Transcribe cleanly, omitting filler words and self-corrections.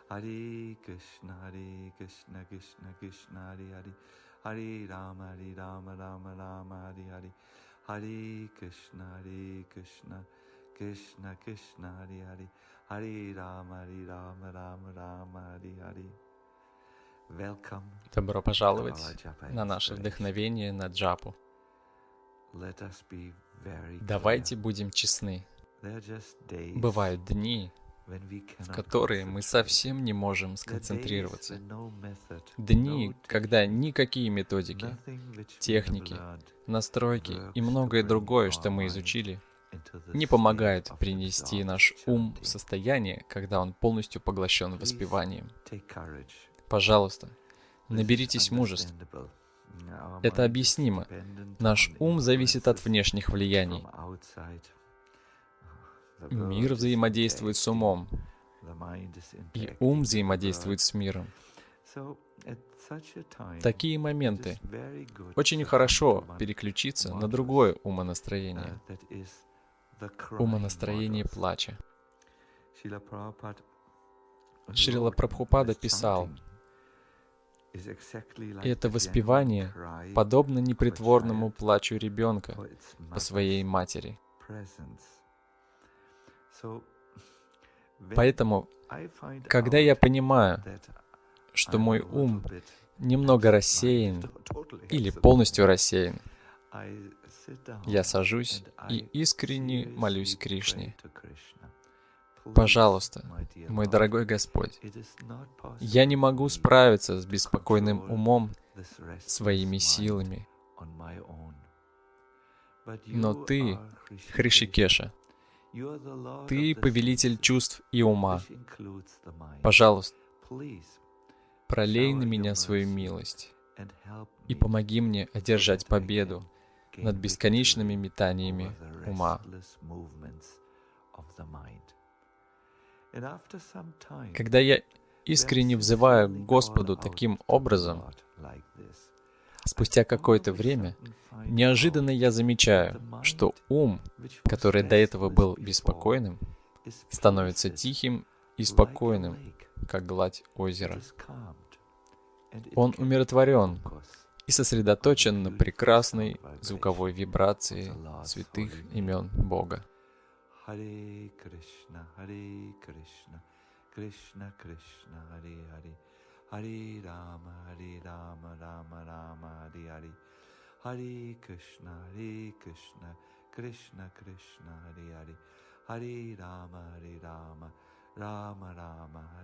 Hare Krishna, Krishna Krishna, Hare Hare, Hare Rama, Rama Rama, Hare Hare, Hare Krishna, Krishna Krishna, Hare Hare, Hare Rama, Rama Rama, Hare Hare. Welcome Добро to пожаловать our Japa на наше inspiration. вдохновение на джапу. Let us be very Давайте clear. будем честны. There are just days Бывают дни, when we в cannot которые мы concentrate. совсем не можем There are days сконцентрироваться. when no method, Дни, no когда technique, никакие методики, nothing which we have техники, learned настройки и works to многое bring другое, our что мы mind изучили, into the не state помогают of принести наш absorbed ум в chanting. состояние, когда он полностью поглощен Please воспеванием. take courage. Пожалуйста, This is наберитесь мужества. understandable. Our Это mind is объяснимо. dependent Наш on ум зависит от influences внешних влияний. from outside. The Мир world is взаимодействует с interacting. умом, The mind is и interacting ум with the взаимодействует world. с миром. So, at such a time, В такие it моменты is very good очень to хорошо come to one переключиться на modus, другое умонастроение, that is the crying умонастроение modus. плача. Шрила Прабхупада Шрила wrote, Прабхупада "This писал, chanting is exactly и like это the genuine воспевание cry подобно of a непритворному child плачу ребенка for its по своей mother's матери. presence." So, when Поэтому, I find когда я out понимаю, that что I'm мой a little ум bit немного absent-minded, рассеян totally или absent-minded, полностью рассеян, I sit down я сажусь and и I искренне молюсь seriously Кришне. pray to Krishna. Please, Пожалуйста, my dear мой Lord, дорогой Господь, it is not я possible не for могу me справиться с to беспокойным control умом this restless своими mind силами, on my own. But но you Ты, are Hrishikesha. Хришикеша, You are the Lord Ты of the повелитель senses, чувств и ума. which includes the mind. Пожалуйста, Please пролей на shower меня your свою mercy милость and help и me помоги мне so одержать that I победу can над gain бесконечными victory метаниями over the ума. restless movements of the mind. And after some time, Когда я when I искренне взываю sincerely к call Господу out таким to the образом, Lord like this, I спустя какое-то all of a время, sudden find неожиданно out я that замечаю, the что mind, ум, which was который до этого restless был before, беспокойным, is становится placid тихим и like a спокойным, lake. как гладь It озера. is calmed, and it Он can умиротворен focus и on the сосредоточен на beautiful прекрасной sound звуковой vibration of вибрации the Lord's святых holy name. имен Бога. Hare Krishna, Krishna Krishna, Hare Hare, Hare Rama, Rama Rama, Hare Hare, Hare Krishna, Krishna Krishna, Hare Hare, Hare Rama, Rama Rama,